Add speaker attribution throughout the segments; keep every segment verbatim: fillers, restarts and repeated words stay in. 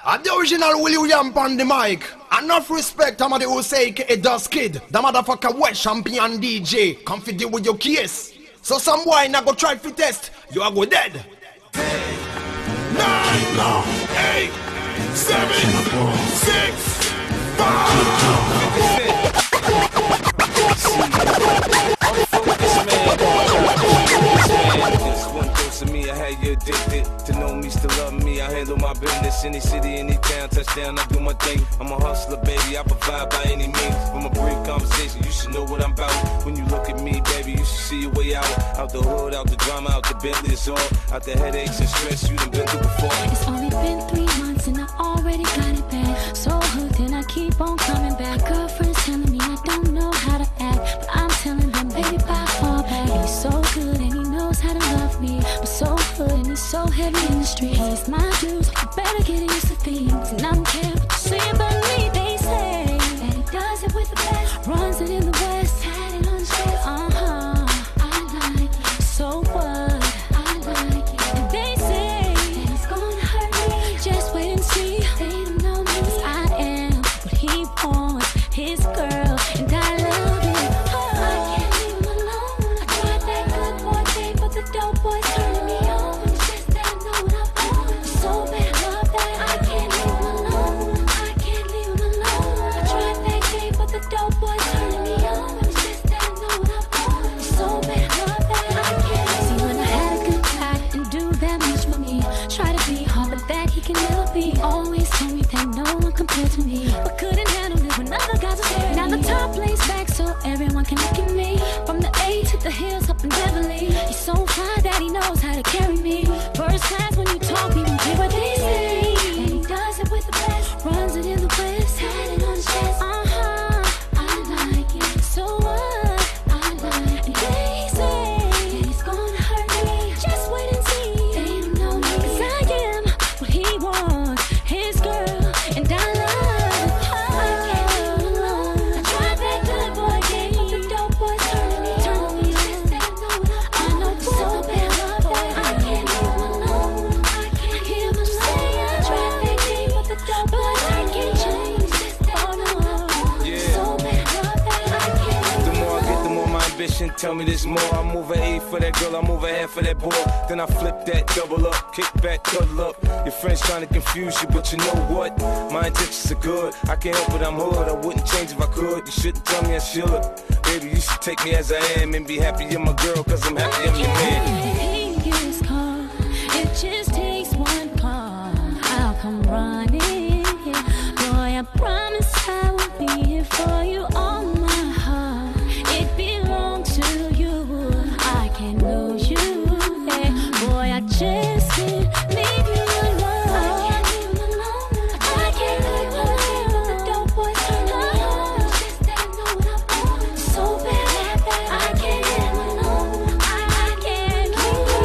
Speaker 1: I'm the original Willie William on the mic. Enough respect, I'm the who say it does kid. The motherfucker West champion D J. Come fit deal with your case. So some boy not go try to test. You are go dead. Ten, nine, no. eight, seven, six, five.
Speaker 2: Just one dose of me, I had you addicted. To know me, still love me, I handle my business. Any city, any town, touchdown, I do my thing. I'm a hustler, baby, I provide by any means. From a brief conversation, you should know what I'm about. When you look at me, baby, you should see your way out. Out the hood, out the drama, out the Bentley, it's all. Out the headaches and stress you done been through before.
Speaker 3: It's only been three months and I already got it back. So hooked and I keep on coming back. Girlfriend's telling me I don't know how to act, but I'm telling them, baby, bye, fall back. And he's so good and he knows how to love me, but so good and he's so heavy in the streets. He's my dude, you better get used to things. And I don't care what you say about me. They say that he does it with the best, runs it in the west, had it on his chest. Uh-huh, I like it. So what? I like it. And they say that he's gonna hurt me. Just wait and see. They don't know me, 'cause I am what he wants, his girl, and I love it. Oh, I can't leave him alone. I tried that good boy thing, but the dope boy's turning me on. It's just that I know what I want. So bad, I love that. I can't leave him alone. I can't leave him alone. I tried that game, but the dope boy's turning me on. It's just that I know what I want. So bad, I love that. I can't see when I had a good guy and do that much for me. Try to be hard, but that he can never be. Always told me that no one compared to me, but couldn't handle it when other guys were there. Now the top lays back so everyone can look at me. From the A to the hills up in Beverly, he's so fly that he knows how to carry me. First class when you talk, people hear what they say. And he does it with the best, runs it in the west, had it on his chest. Uh-huh, I like it. So what? I like it. And they say that he's gonna hurt me. Just wait and see. They don't know me, 'cause I am what he wants, his girl, and I love it. Oh, I can't leave him alone. I tried that good boy game, but the dope boy's turning me on. It's just that I know what I know so bad, love that. I can't leave him alone. I can't hear him say I tried that game, but the dope boy's turning me on. It's just that I know what I want.
Speaker 2: Yeah.
Speaker 3: So bad, love that. I can't.
Speaker 2: The more I get, the more my ambition tell me this more. I move a A for that girl, I move a half for that boy. Then I flip that, double up, kick back, cuddle up. Your friends trying to confuse you, but you know what? My intentions are good. I can't help it, I'm hood. I wouldn't change if I could. You shouldn't tell me I should. Baby, you should take me as I am and be happy you're my girl, 'cause I'm happy I'm your man.
Speaker 3: He gets caught. It just takes one call. I'll come running. Boy, I promise I will be here for you. All my heart, it belongs to you. I can't lose you. Hey, boy, I just can't leave you alone. I can't leave him alone. I can't leave him alone. But the dope boy's turning me on. It's just that I know what I want. So bad, I can't leave him alone. I, I can't leave him alone.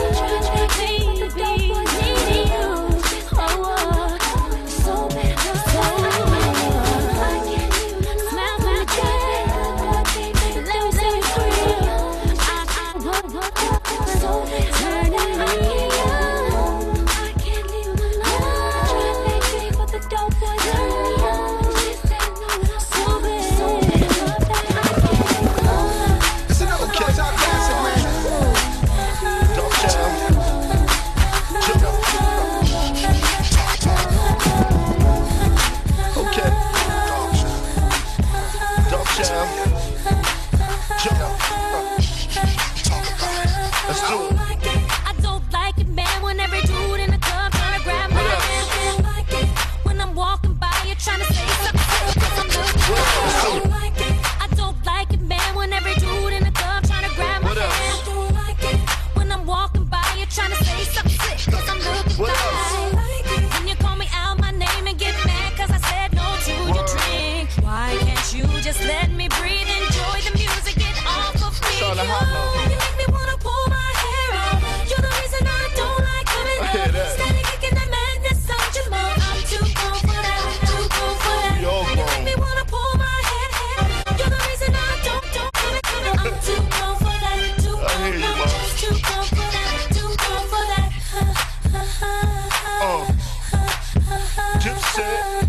Speaker 2: said.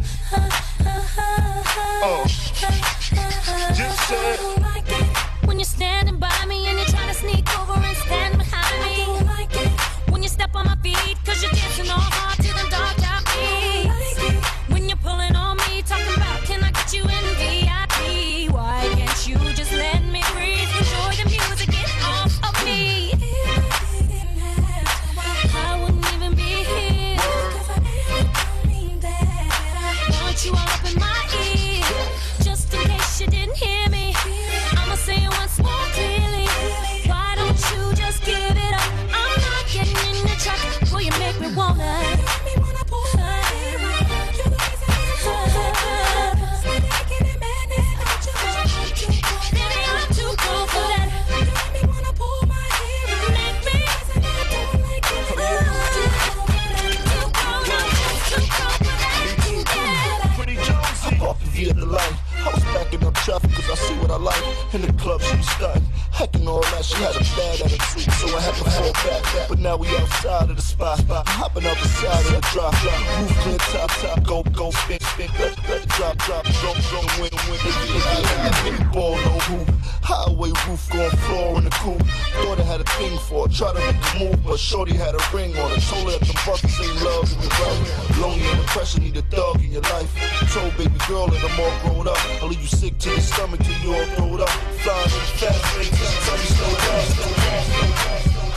Speaker 2: Oh, just said.
Speaker 3: When you're standing by me and you're trying to sneak over and stand behind me. When you step on my feet, cause you're dancing all hard to the dark top beats. When you're pulling on me, talking about can I get you in V I P? Why can't you just let me breathe? Enjoy the music, get off of me. I wouldn't even be here. Want you all up in my ear. Just in case you didn't hear me, I'ma say it once more clearly. Why don't you just give it up? I'm not getting in the truck. Will you make me wanna?
Speaker 4: Via the light, I was backing up traffic cause I see what I like. In the club she was stunting, hacking all that. She had a bad attitude, so I had to fall back. But now we outside of the spot, hopping up the side of the drop. Roof clear, top, top, go, go, spin, spin, let, let, drop, drop, go, go, win, win, win. Ball, no hoop, highway roof, going floor in the coupe. Thought I had a thing for it, tried to make a move, but shorty had a ring on it. Told her that the buckets ain't love in your life. Lonely and depression, need a thug in your life. Told baby girl that I'm all grown up. I'll leave you sick to your stomach till you all throwed up. Flying in the fast lane till she tell me slow down, slow down, slow down.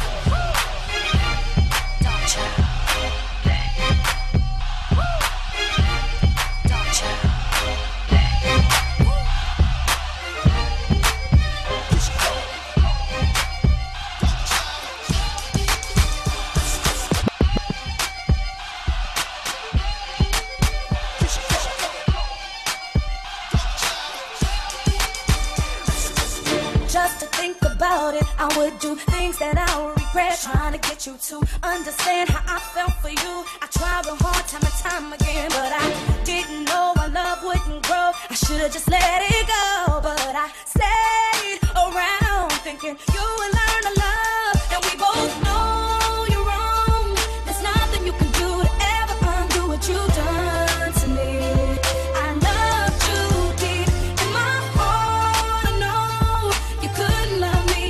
Speaker 5: I would do things that I would regret. Trying to get you to understand how I felt for you. I tried real hard time and time again, but I didn't know our love wouldn't grow. I should've just let it go, but I stayed around thinking you would learn to love. And we both know you're wrong. There's nothing you can do to ever undo what you've done to me. I loved you deep in my heart. I know you couldn't love me.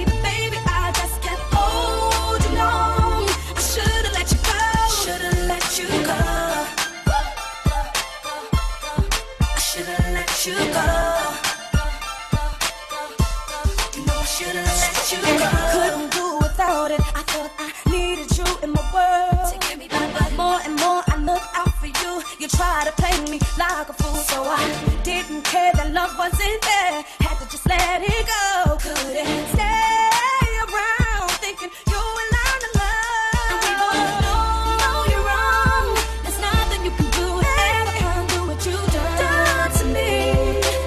Speaker 5: You go. You know I should've let you go. Couldn't do without it. I thought I needed you in my world. To give me that, but more and more I look out for you. You try to play me like a fool, so I didn't care that love wasn't there. Had to just let it go. Couldn't stay around thinking you would learn to love. And we both know you're wrong. There's nothing you can do to ever undo what you've done to me.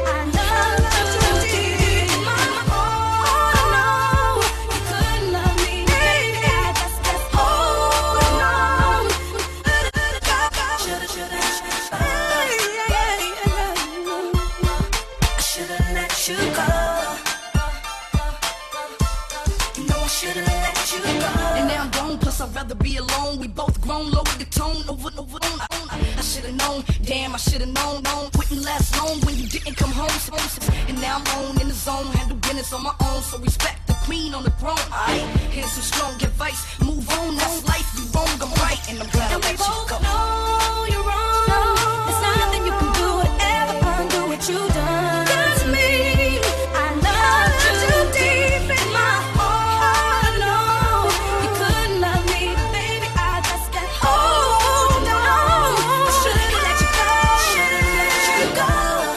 Speaker 6: I'd rather be alone. We both grown, lower the tone, over and over. I should've known, damn, I should've known, known. Wouldn't last long when you didn't come home. And now I'm on in the zone, handle business on my own. So respect the queen on the throne. Alright, here's some strong advice. Move on, that's life. You wrong, I'm right, and I'm glad I let you go.
Speaker 5: Know you're wrong. There's nothing you can do to ever undo what you've done to me. I loved you deep in my heart. I know you couldn't love me, but baby, I just can't hold on. I should've let you go. Should've let you go.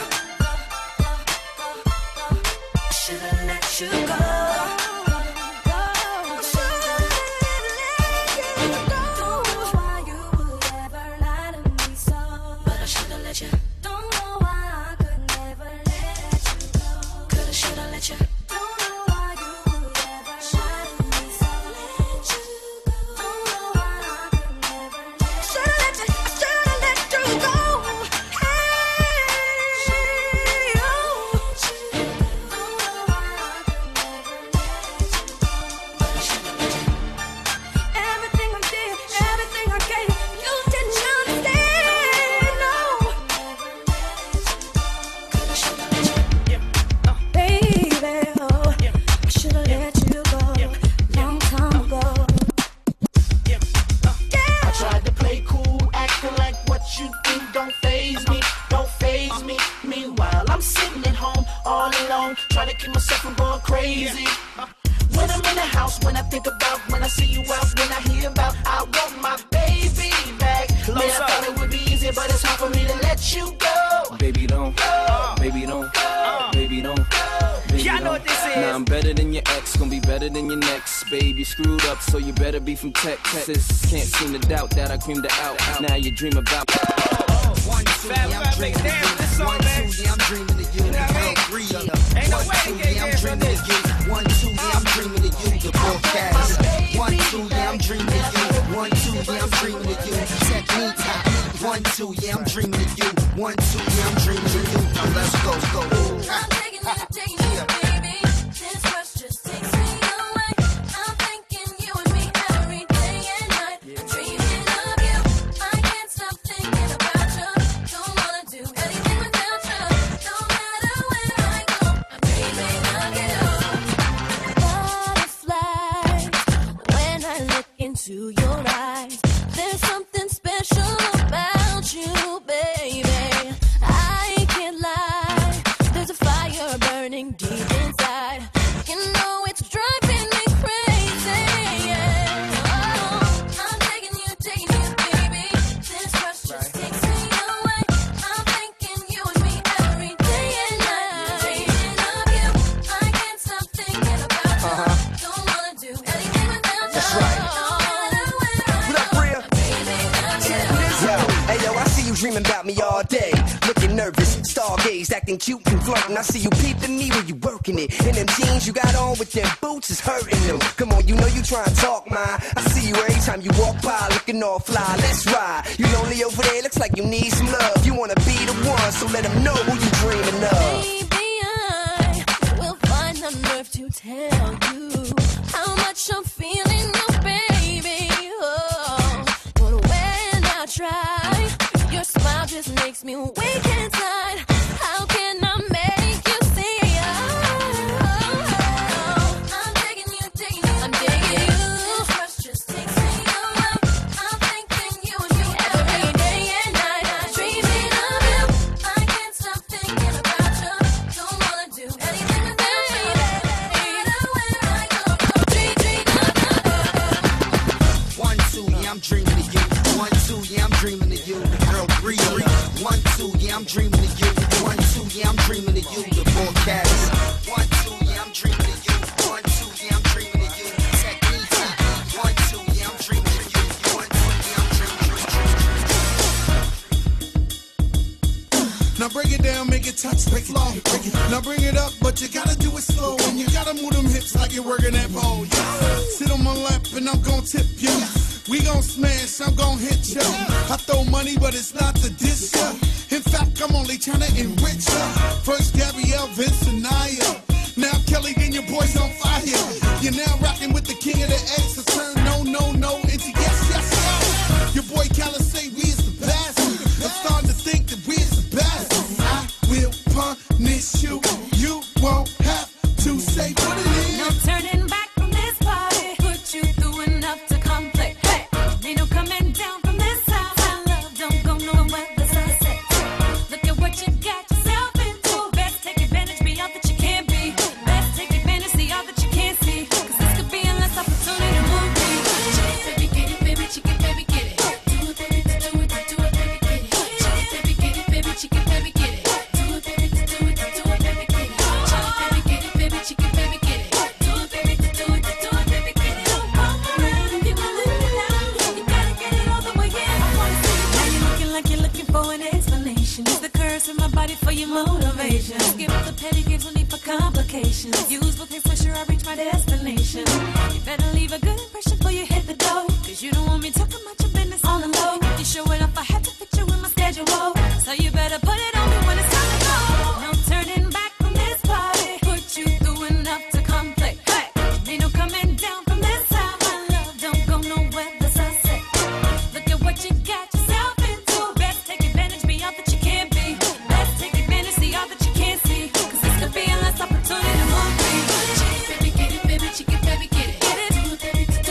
Speaker 5: Should've let you go. Should've let you go. Don't know why you would ever
Speaker 7: don't faze me, don't faze me. Meanwhile, I'm sitting at home all alone, trying to keep myself from going crazy. When I'm in the house, when I think about, when I see you out, when I hear about, I want my baby back. Man, I thought it would be easy, but it's hard for me to let you go.
Speaker 2: Baby don't,
Speaker 7: Go.
Speaker 2: baby don't,
Speaker 7: Go.
Speaker 2: baby don't. Baby
Speaker 8: Y'all know
Speaker 2: don't.
Speaker 8: what this is.
Speaker 2: Now I'm better than your ex, gonna be better than your next. Babe, you screwed up, so you better be from Texas. Can't seem to doubt that I creamed it out. Now you dream about.
Speaker 8: One, two, yeah, I'm dreaming of you. One, two, yeah, I'm dreaming of you. Ain't no way to get there from this.
Speaker 9: One, two, yeah, I'm dreaming of you. The broadcast. One, two, yeah, I'm dreaming of you. One, two, yeah, I'm dreaming of you. Technique top. One, two, yeah, I'm dreaming of you. One, two, yeah, I'm dreaming of you. Now let's go, go.
Speaker 5: I'm taking you, taking you, baby. This rush just takes me away. I'm thinking you and me every day and night. I'm dreaming of you. I can't stop thinking about you. Don't wanna do anything without you. No matter where I go, I'm dreaming of you. Butterflies, when I look into your eyes, there's something special about you, baby. I can't lie, there's a fire burning deep inside. You know it's driving me crazy. Oh, I'm taking you, taking you, baby. This rush just takes me away. I'm thinking you and me every day and night. Dreaming of you, I can't stop thinking about you. Don't wanna do anything without you.
Speaker 9: That's right.
Speaker 5: No matter where I
Speaker 9: What up,
Speaker 5: go,
Speaker 9: Bria?
Speaker 5: dreaming of you.
Speaker 9: Yo, hey yo, I see you dreaming about me all day. Looking nervous, stargaze, acting cute and flirting. I see you peeping me when you working it. And them jeans you got on with them boots is hurting them. Come on, you know you try and talk, man. I see you every time you walk by, looking all fly. Let's ride. You lonely over there, looks like you need some love. You wanna be the one, so let them know who you dreaming of.
Speaker 5: Maybe I will find the nerve to tell you how much I'm feeling you, baby. Oh, but when I try, your smile just makes me weak inside. How can I make you see? Oh, I'm taking you, taking you, I'm digging you. This rush just takes me away. I'm thinking you and me every day and night. I'm dreaming of you. I can't stop thinking about you. Don't wanna do anything without you. No matter where I go, dream, dream of you.
Speaker 9: One, two, yeah, I'm dreaming of you. One, two, yeah, I'm dreaming of you. Girl, breathe. One, two, yeah, I'm dreaming of you. One, two, yeah, I'm dreaming of you. The broadcast. One, two, yeah, I'm dreaming of you. One, two, yeah, I'm dreaming of you. Technique top. One, two, yeah, I'm dreaming of you. One, two, yeah, I'm dreaming of you.
Speaker 10: Now break it down, make it touch the flow. Break it. Now bring it up, but you gotta do it slow. And you gotta move them hips like you're working that pole. Yeah. Sit on my lap and I'm gon' tip you. We gon' smash, I'm gon' hit ya. I throw money, but it's not the diss ya. In fact, I'm only tryna enrich ya. First Gabrielle, Vince, and Naya. Now Kelly, then your boy's on fire. You're now rocking with the king of the X. So turn no, no, no into yes, yes, yes. Your boy Khaled say we is the best. I'm starting to think that we is the best. I will punish you. You won't have to say what it is.
Speaker 5: No turning back from this party. Put you through enough to complete. Hey, ain't no coming down from this house. My love don't go nowhere the sunset. Look at what you got yourself into. Best take advantage, be all that you can be. Best take advantage, see all that you can't see. Cause this could be a last opportunity to move me. Baby, get it, baby, chicken, baby, get it. Do it, baby, do it, do it, baby, get it. Baby, get it, baby, chicken, baby, get it. Do it, baby, do it, do it, baby, get it. Baby, get it, baby, chicken, baby, get it. Do it, baby, do it, do it, baby, get it. Walk around and give a little love. You gotta get it all the way in. I wanna see you. Now you're looking like you're looking for an explanation. Use the curves in my body for your motivation. Skip the petty gives, no need for complications. Use both hands, make sure I reach my destination. You better leave a good impression before you hit the door. Cause you don't want me talking about your business on the low. You show it off, I had to fit you in my schedule. So you better put it on me when it's time to go. No turning back from this party. Put you through enough to complete. Hey, ain't no coming down from this side. My love don't go nowhere the sunset. Look at what you got yourself into. Best take advantage, be all that you can be. Best take advantage, see all that you can't see. Cause this could be a last opportunity to move me. Baby, get it, baby, chicken, baby, get it. Get it. Do it, baby, do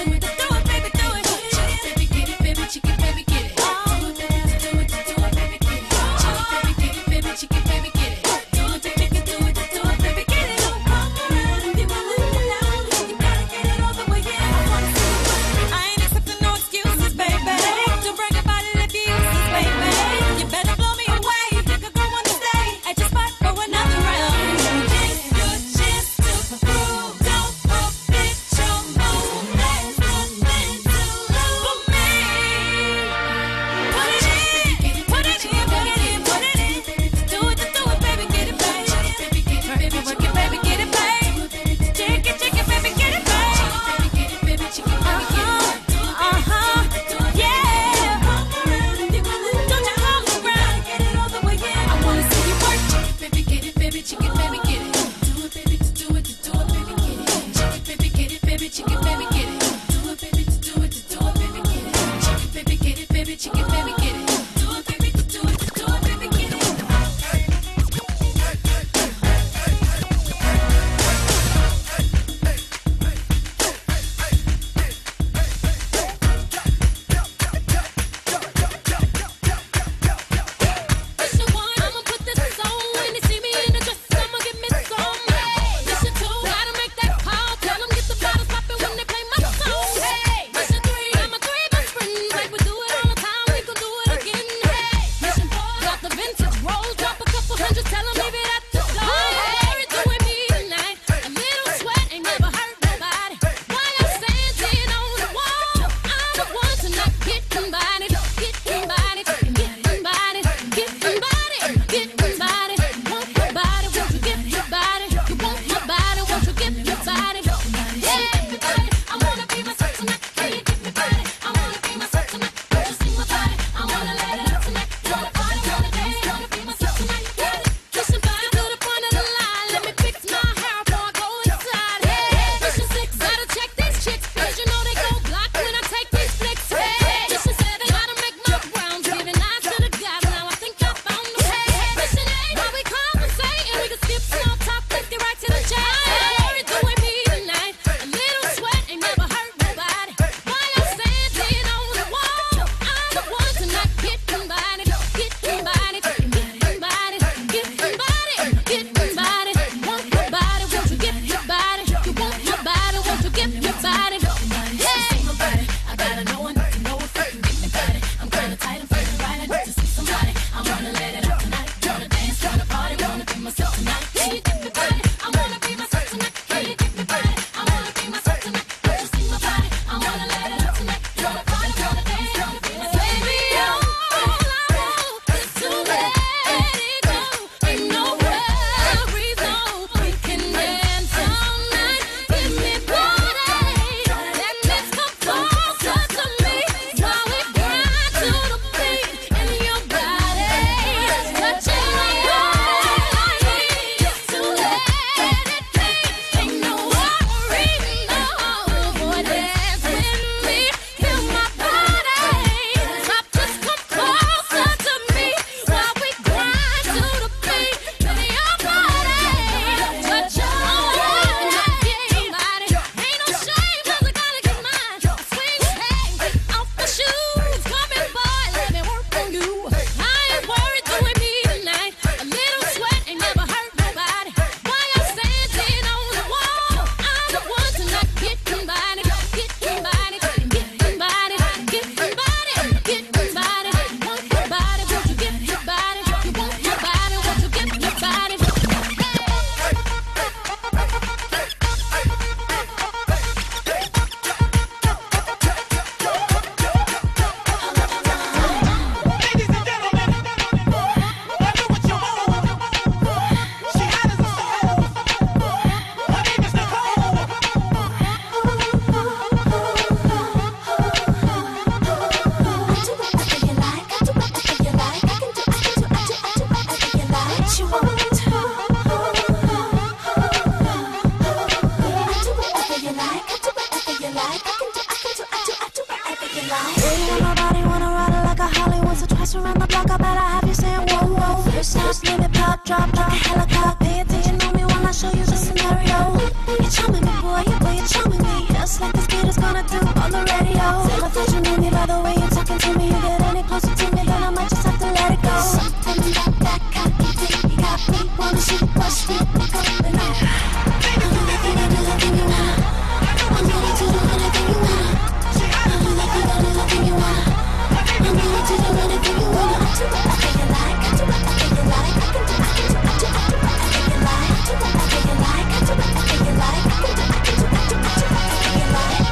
Speaker 5: I have you saying whoa, whoa. First house, let me pop, drop like a helicopter. Pay attention on me while I show you the scenario. You're charming me, boy, you boy, you're charming me. Just like this kid is gonna do on the radio. Tell me that you need me by the way you're talking to me. You get any closer to me, then I might just have to let it go. Something about that cocky thing you got me. Wanna see what's deep, look up and out. I'm gonna do anything you wanna. I'm gonna do anything you wanna. I'm gonna do anything you wanna. I'm gonna do anything you wanna. I do what I think you like. I do what I think you like. I can do, I can do, I do, I do what I think you like. I do what I think you like. I do what I think you like. I can do, I can do, I do, I do what I think you like.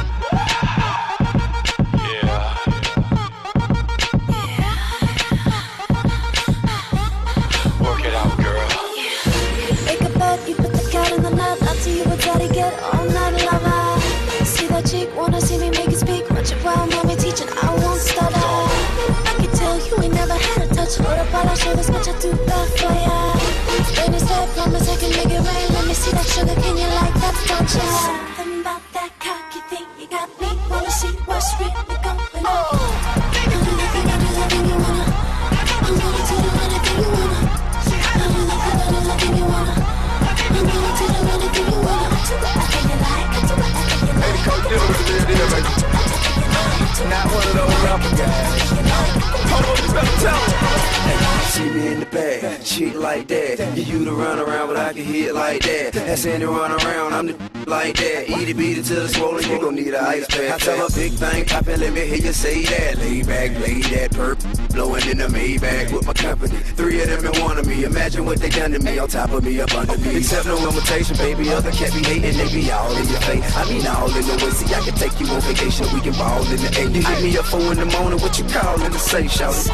Speaker 11: Work it out, girl.
Speaker 5: Make a bed, you put the cat in the nut. I'll tell you what daddy get all night lover. See that cheek, wanna see me make it speak. Watch it while mommy teaching, I won't stutter. I can tell you ain't never had a touch. Hold up while I show this much I do that for ya. When it's that promise I can make it rain. Let me see that sugar, can you like that touch? Something about that cocky thing you got me. Wanna see what's really going on. I'm gonna do anything you wanna. I'm gonna do anything you wanna. I'm gonna do anything you wanna. I'm gonna do anything you wanna. I do what I think you like. I do what I think you like.
Speaker 11: Hey, Coach Dillon, what's the real deal, baby? Not one of those rapper guys. Hold on, you better tell him.
Speaker 9: See me in the bag, shit like that. You you to run around, but I can hit like that. That's Sandy run around, I'm the like that. Eat it, beat it till it's swollen, you gon' need an ice pack. I tell a big thing poppin', let me hear you say that. Lay back, lay that perp, blowin' in the Maybach with my company. Three of them in one of me, imagine what they done to me. On top of me, up under me. Accept no invitation, baby, other cat be hating, they be all in your face. I mean all in the way, see I can take you on vacation, we can ball in the eight. You hit me up four in the morning, what you callin' to say, shout it.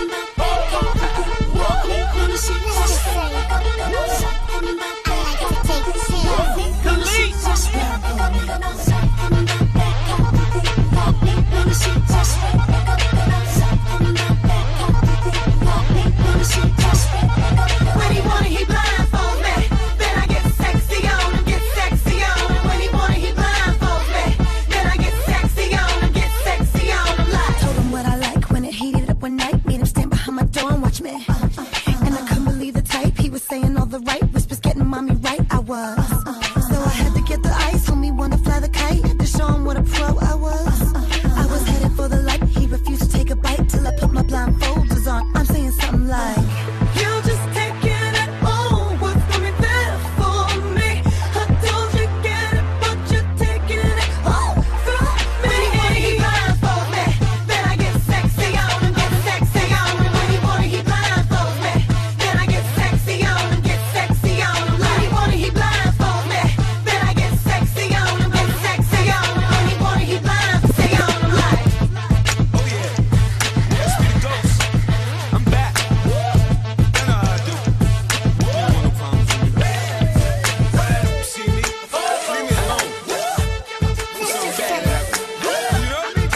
Speaker 7: When he wanna, he blindfold me. Then I get sexy on him, get sexy on him. When he wanna, he blindfold me. Then I get sexy on him, get sexy on him. Like
Speaker 5: Told him what I like when it heated up one night. Made him stand behind my door and watch me. Uh, uh, and I couldn't believe the type. He was saying all the right whispers, getting mommy right. I was. Uh, uh, so I had to get the ice. Homie wanna fly the kite to show him what a pro I was. Uh, uh, I was headed for the light. He refused to take a bite till I put my blindfolders on. I'm saying something like,
Speaker 7: you just taking it all. What's coming there for me? I told you get it, but you're taking it all from me. When he wanna, he blindfold me. Then I get sexy on him, get sexy on him. When he wanna, he blindfold me. Then I get sexy on him, get sexy on him. When he wanna, he blindfold me. Then I get sexy on him, get sexy on him. When he wanna, he blindfold me on him like.
Speaker 2: Oh yeah, that's me the ghost. I'm back. You know how I do. You don't want no problems with me. See me? Leave me alone. What's so bad happened? You know me?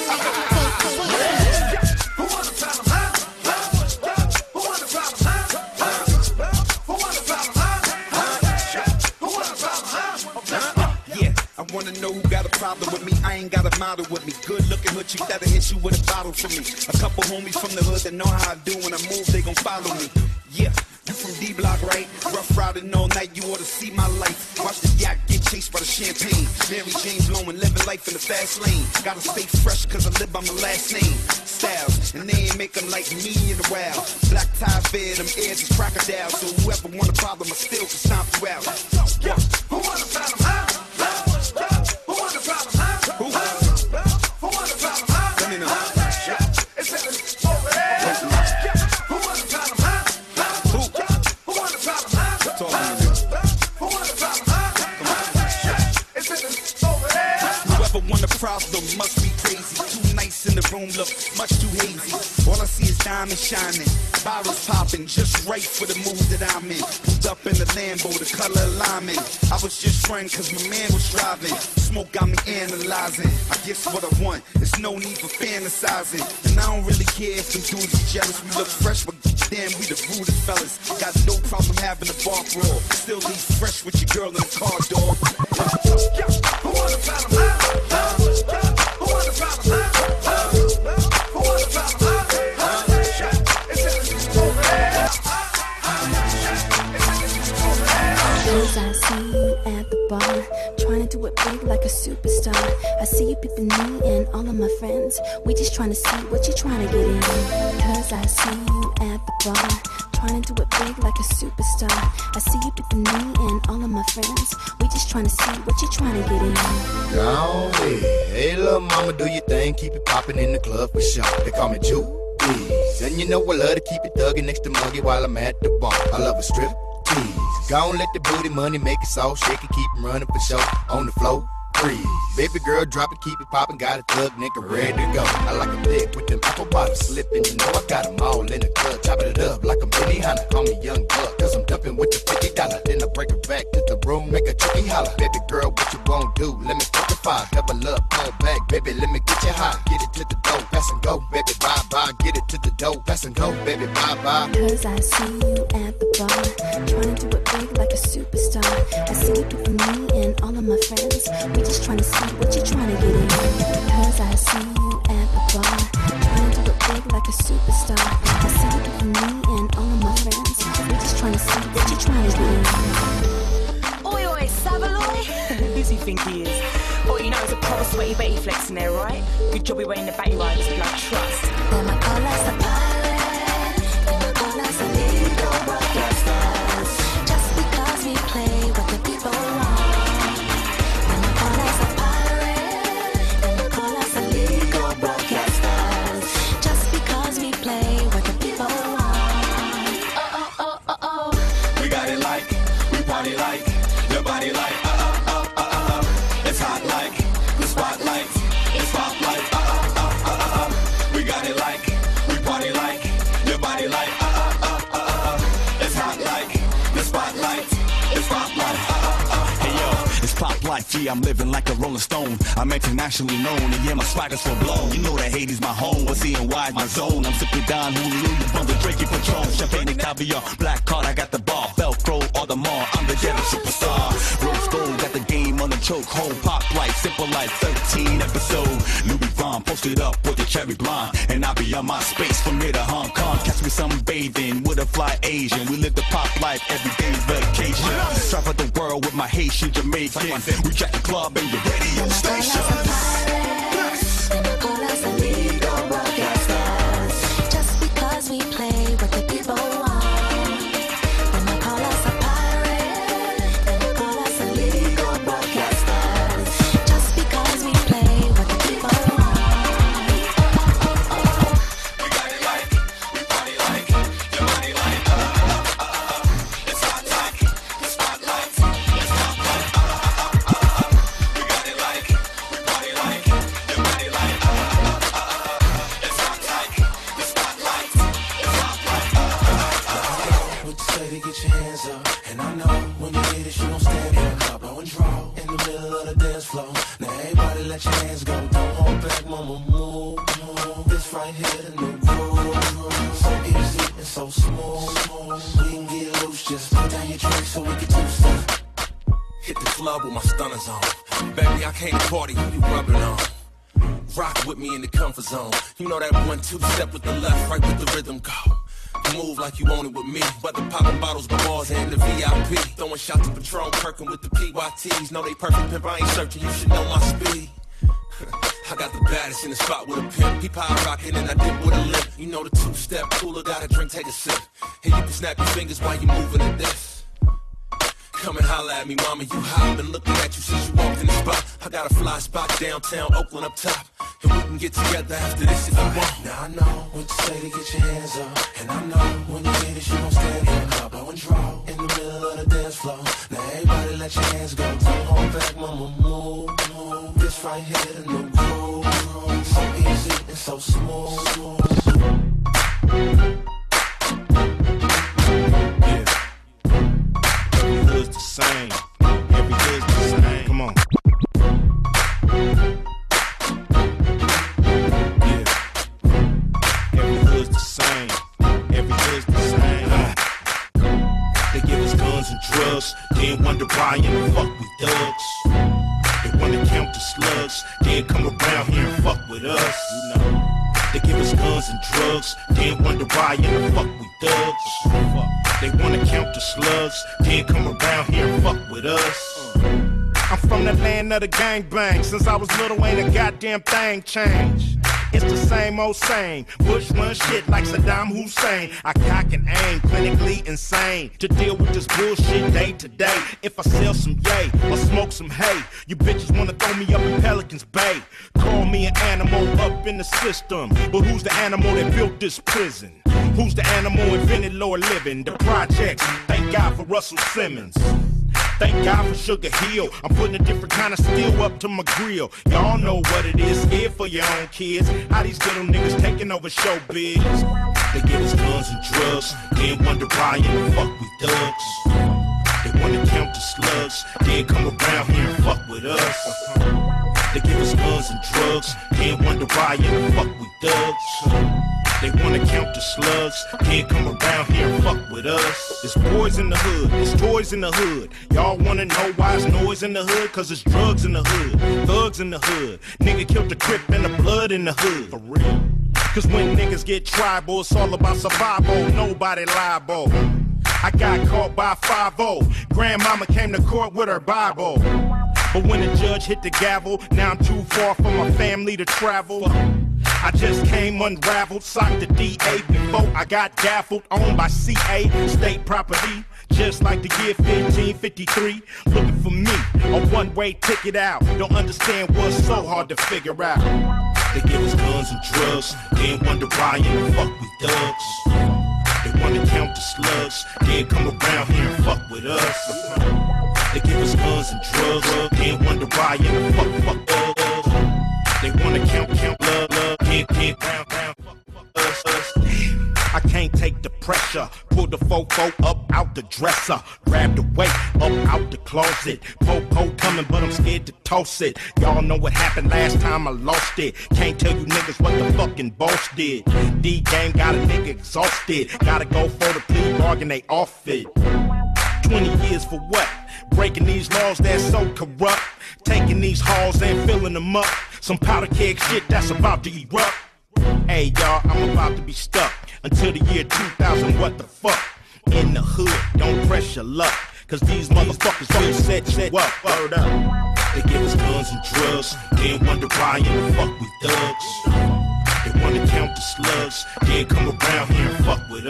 Speaker 2: Who want the problem, huh? Who want the problem, huh? Who want the problem, huh? Who want the problem, huh? Yeah, I wanna know who got a problem with me. I ain't got a model with me. Good looking hood chick that'll hit you with a bottle for me. A couple homies from the hood that know how I do when I move, they gon' follow me. Yeah, you from D Block, right? Rough riding all night, you ought to see my life. Watch the yacht get chased by the champagne. Mary Jane blowing, living life in the fast lane. Gotta stay fresh cause I live by my last name. Styles, and they ain't make them like me in a while. Black tie fed, them ears is crocodile. So whoever want a problem, I still can stomp you out. Yeah. Who want a problem, huh? Who want a problem, huh? Who? Who want a problem, huh? Let me know. It's over there. Who want a problem, huh? Who? Who want a problem, huh? Talk to me. Who want a problem, huh? It's over there. Whoever want a problem must be crazy. Too nice in the room, look much too hazy. All I see is diamonds shining, bottles popping, just right for the mood that I'm in. Pulled up in the Lambo, the color alignment. I was just running cause my man was driving. Smoke got me analyzing. I guess what I want, there's no need for fantasizing. And I don't really care if them dudes are jealous. We look fresh, but damn, we the rudest fellas. Got no problem having a bar brawl. Still leave fresh with your girl in the car, dog. Who want a problem, huh? Who want a problem, huh? Who want a problem, huh?
Speaker 3: big like a superstar. I see you peeping me and all of my friends. We just trying to see what you trying to get in. Cause I see you at the bar, trying to do it big like a superstar. I see you peeping me and all of my friends. We just trying to see what you trying to get in.
Speaker 12: Go ahead. Hey, little mama, do your thing. Keep it popping in the club for sure. They call me Juice. And you know I love to keep it thugging next to Muggy while I'm at the bar. I love a strip tease. Go and let the booty money make it so shake it, keep 'em running for show. On the floor, freeze. Baby girl, drop it, keep it poppin'. Got a thug nigga ready to go. I like a thick with them apple bottles slipping. You know I got 'em all in the club. Chopping it up like a mini Honda. Call me Young Buck, cause I'm dumping with the fifty dollars. Then I break it back to the room, make a chicken holler. Baby girl, what you gon' do? Let me fuck the fire. Double up, pull back, baby, let me get you high. Get it to the dough, pass and go. Baby, bye bye, get it to the dough, pass and go. Baby, bye bye.
Speaker 3: Cause I see you at the bar, trying to do it big like a superstar. I see you peeping me and all of my friends. We just trying to see what you trying to get in. Cause I see you at the bar, trying to do it big like a superstar. I see you peeping me and all of my friends. We just trying to see what you trying to get in.
Speaker 13: Oi, oi, Savaloy. Who's he think he is? Oh, you know it's a proper sweaty Betty flex in there, right? Good job we wearing the Betty riders, blood trust.
Speaker 3: Then my color's a pirate, then my color's a legal broadcasters. Just because we play what the people want. Then my color's a pirate, then my color's a legal broadcasters. Just because we play what the people want. Oh, oh, oh, oh, oh.
Speaker 14: We got it like, we party like, your body like, uh, uh, uh, uh, uh, uh. It's hot like, the spotlight, it's pop like, uh, uh, uh, uh, uh, uh. We got it like, we party like, your body like, uh, uh, uh, uh, uh, uh. It's hot like, the spotlight, it's pop like, uh, uh, uh.
Speaker 15: Hey yo, it's pop life, yeah, I'm living like a Rolling Stone. I'm internationally known, and yeah, my swagger's full blown. You know that Haiti's my home, what's C and Y is my zone. I'm sipping Don Julio from the Drake and Patron. Champagne and caviar, black card, I got the bar. Velcro or the mall, I'm the ghetto superstar. Rose gold, got the game on the choke. Home pop life, simple life, thirteen episode. Louis Vuitton posted up with the cherry blonde. And I'll be on my space from here to Hong Kong. Catch me sunbathing with a fly Asian. We live the pop life, every day's vacation. Travel the world with my Haitian Jamaican. We jack the club and your radio station.
Speaker 3: Just because we play what the people want. Then my call us a pirate, then my call us a legal broadcasters. Just because we play what the people want.
Speaker 14: We got it like, we party like, your body like, uh, uh, uh, uh. It's hot like, the spotlight, it's pop like, uh, uh, uh, uh, uh. We got it like, we party like, your body like, uh, uh, uh, uh. It's hot like, the spotlight, it's pop like, uh, uh, uh.
Speaker 7: What you say to get your hands up? And I know when you hit it, you don't stand here. Blow and draw in the middle of the dance floor. Now everybody let your hands go. Don't hold back, mama, move, move. This right here, the new groove. So easy and so smooth. We can get loose, just put down your drink so we can do stuff.
Speaker 2: Hit the club with my stunners on. Baby, I came to party, who you rubbing on? Rock with me in the comfort zone. You know that one, two step with the left, right with the rhythm go. Move like you own it with me. Whether popping bottles, bars, and the V I P. Throwing shots of Patron, Kirkin with the P Y Ts. Know they perfect pimp, I ain't searching, you should know my speed. I got the baddest in the spot with a pimp. He power rockin' and I dip with a limp. You know the two-step cooler, got a drink, take a sip. And you can snap your fingers while you moving to this. Come and holla at me, mama, you hot. Been looking at you since you walked in the spot. I got a fly spot downtown, Oakland up top. And we can get together after this if you want.
Speaker 7: Now I know what you say to get your hands up. And I know when you hit it, you don't stand here. Blow and draw in the middle of the dance floor. Now everybody let your hands go. Don't hold back, mama, move, move. This right here, the new groove. So easy and so smooth.
Speaker 16: Hood's the same. Every hood's the same. Come on. Yeah. Every hood's the same. Every hood's the same. Uh. They give us guns and drugs. Then wonder why in the fuck we thugs. They wanna count the slugs. Then come around here and fuck with us. You know. They give us guns and drugs. Then wonder why in the fuck we thugs. Fuck. They wanna count the slugs, then come around here and fuck with us. I'm from the land of the gangbang. Since I was little, ain't a goddamn thing changed. It's the same old same. Bush run shit like Saddam Hussein. I cock and aim, clinically insane. To deal with this bullshit day to day. If I sell some yay or smoke some hay, you bitches wanna throw me up in Pelican's Bay. Call me an animal up in the system. But who's the animal that built this prison? Who's the animal invented lower living? The projects. Thank God for Russell Simmons. Thank God for Sugar Hill. I'm putting a different kind of steel up to my grill. Y'all know what it is, scared for your own kids. How these little niggas taking over showbiz. They give us guns and drugs, then wonder why in the fuck we thugs. They wanna count the slugs, then come around here and fuck with us. They give us guns and drugs, then wonder why in the fuck we thugs. They wanna count the slugs, can't come around here and fuck with us. It's boys in the hood, it's toys in the hood. Y'all wanna know why it's noise in the hood? Cause it's drugs in the hood, thugs in the hood. Nigga killed the Crip and the blood in the hood. For real. Cause when niggas get tribal, it's all about survival, nobody liable. I got caught by five oh. Grandmama came to court with her Bible. But when the judge hit the gavel, now I'm too far from my family to travel. I just came unraveled, socked the D A before I got gaffled, owned by C A, state property. Just like the year fifteen fifty-three, looking for me, a one-way ticket out. Don't understand what's so hard to figure out. They give us guns and drugs, then wonder why in the fuck we thugs. They wanna count the slugs, then come around here and fuck with us. They give us guns and drugs, then wonder why in the fuck fuck us. They wanna count, count, love, love, can't, can't, round, round, fuck, fuck us, us. I can't take the pressure. Pull the fofo up out the dresser. Grab the weight up out the closet. Popo coming, but I'm scared to toss it. Y'all know what happened last time I lost it. Can't tell you niggas what the fucking boss did. D-game got a nigga exhausted. Gotta go for the plea bargain, they off it. twenty years for what? Breaking these laws that's so corrupt. Taking these halls and filling them up. Some powder keg shit that's about to erupt. Hey y'all, I'm about to be stuck until the year two thousand, what the fuck? In the hood, don't press your luck. Cause these motherfuckers will set you up. Word up. They give us guns and drugs, then wonder why in the fuck we thugs. They wanna count the slugs, then come around here and fuck with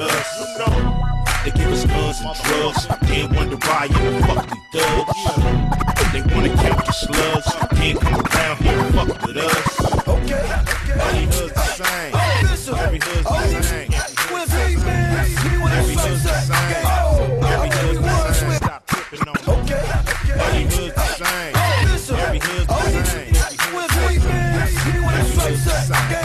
Speaker 16: us. They give us guns and drugs, then wonder why in the fuck we thugs. They wanna count the slugs, then come around here and fuck with us.
Speaker 17: Okay,
Speaker 16: every hood's the same. Every hood's the same. Every hood's the same. Every hood's the same. Stop tripping on me. Okay, every hood's the same. Every hood's the same. Every hood's the same.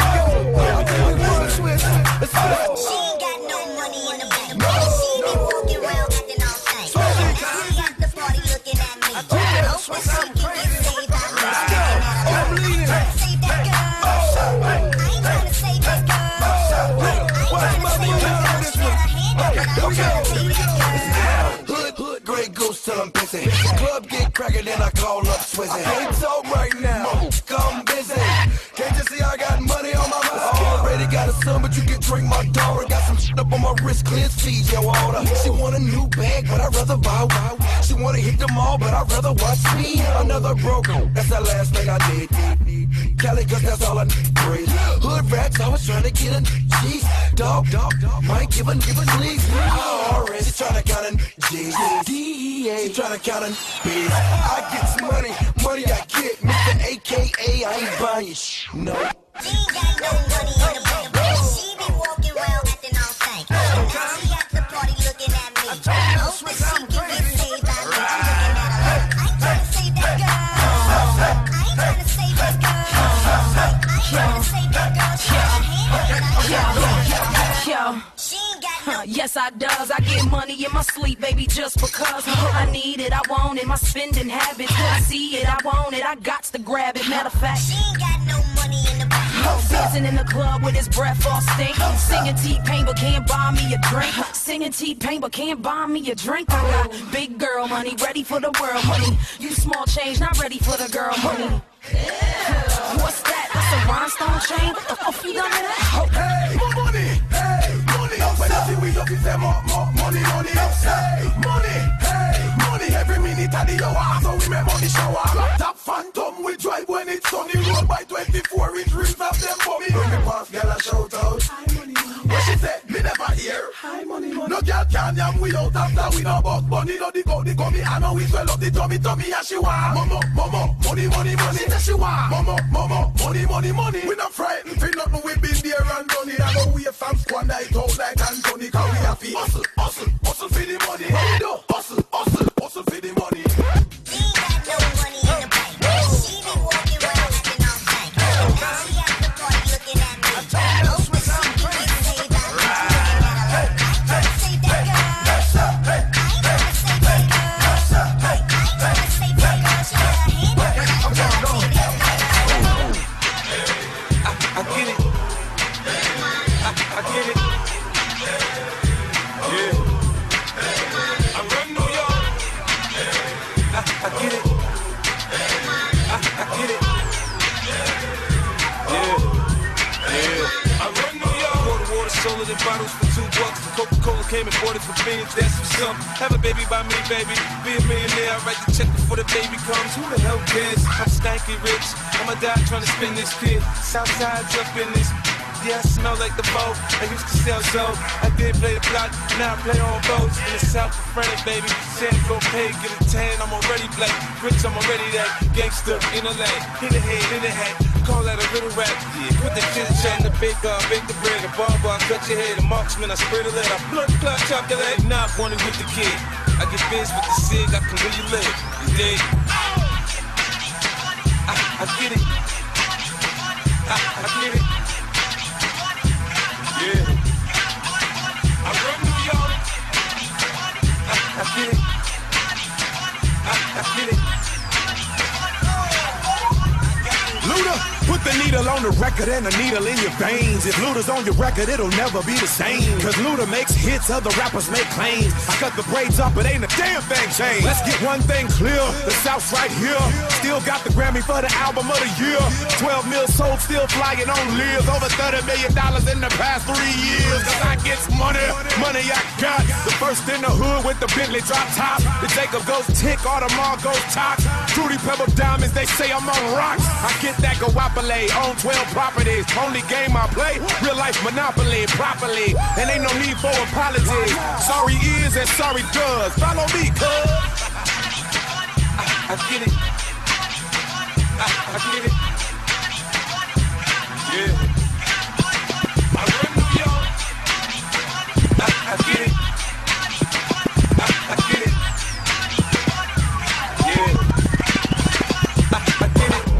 Speaker 14: She ain't got no money in the bank. She be walking around acting all stank. She at the party looking at me. I hope when she can get saved, I'm looking at her. Save that girl. I ain't trying to save this girl. I ain't trying to save this girl. She had her hand up, but I'm trying to save that girl.
Speaker 17: Hood, hood, Grey Goose till I'm busy. Club get crackin', then I call up Swizzy. I can't talk right now, I'm busy. Can't you see I got money on my mind? Already got a son, but you can drink my daughter. Got some shit up on my wrist, clear T J water. She want a new bag, but I'd rather buy one. She wanna hit them all, but I'd rather watch me. Another broker, that's the last thing I did. Cali, cause that's all I need. Breathe. Hood rats, I was trying to get a G's. Dog, dog, dog, might give a, give a sleaze. Already, she trying to count a G's. D E A, she trying to count a B's. I get some money, money I get. Mister A K A, I ain't buying shit, no.
Speaker 14: She ain't got no money in the bank. She be walking around acting all stank. She at the party looking at me. I hope that she can get saved. I'm looking at her. I ain't trying to save that girl. I ain't trying to save this girl. I ain't trying to save that girl. She had her hand up, but I'm
Speaker 6: Yo.
Speaker 14: She ain't got no.
Speaker 6: Yes, I does. I get money in my sleep, baby, just because I need it. I want it. My spending habits. I see it. I want it. I got to grab it. Matter of fact,
Speaker 14: she ain't got no money in the bank.
Speaker 6: Dancing in the club with his breath all stink. Singing T-Pain but can't buy me a drink. Singing T-Pain but can't buy me a drink. I got big girl money, ready for the world money. You small change, not ready for the girl money. What's that? That's a rhinestone chain? What the fuck you done to that?
Speaker 17: Hey, more money, hey, money. When I see we looking say more, more money, money. Hey, money, hey, money. Every minute I the hour, so we make money shower. Top phantom, we drive when it's sunny. Road by twenty-four inch rims of them for me. When me pass, girl a shout out. What she said, me never hear. High money, money. No girl can yam without after we no boss bunny. No the go, the go me, I know we swell up the tummy, tummy and she want. Momo, momo, money, money, money. She she want. Momo, momo, money, money, money. We not frightened, feel nothing, we been there and done it. I go away from squad night out like Anthony, cause we happy. Hustle, hustle, hustle for the money. What we do? Hustle, hustle, hustle for the money.
Speaker 2: Bottles for two bucks. Coca-Cola came and bought it for beans. That's what's up. Have a baby by me, baby. Be a millionaire. I write the check before the baby comes. Who the hell cares? I'm stanky rich. I'ma die trying to spin this kid. Southside's up in this. Yeah, I smell like the boat. I used to sell so. I did play the block. Now I play on boats. In the south of France, baby. San go pay, get a tan. I'm already black. Rich, I'm already that. Gangster in the lane. In the head, in the hat. Call that a little rap, yeah. Put the chit chat in the bake up, bake the bread, the barber, I cut your head, the marksman, I spray the lead, I blood clot, chop your leg. Now I'm wanted with the kid. I get biz with the cig, I can really live. You dig? I, I get it. I, I get it. Yeah. I run New York. I, I get it. I, I get it.
Speaker 18: Luda, put the needle on the record and the needle in your veins. If Luda's on your record, it'll never be the same. Cause Luda makes hits, other rappers make claims. I cut the braids up, it ain't a damn thing changed. Let's get one thing clear, the South's right here. Still got the Grammy for the album of the year. twelve mil sold, still flying on lives. Over thirty million dollars in the past three years. Cause I get money, money I got. The first in the hood with the Bentley drop top. The Jacob goes tick, Audemars goes tox. Fruity Pebble diamonds, they say I'm on rocks. I get that guapole on twelve properties. Only game I play, real life monopoly, properly. And ain't no need for apology. Sorry is and sorry does. Follow me, cuz.
Speaker 2: I, I get it. I, I get it. Yeah. I run New York. I, I get it. I, I get it. Yeah. I, I get it.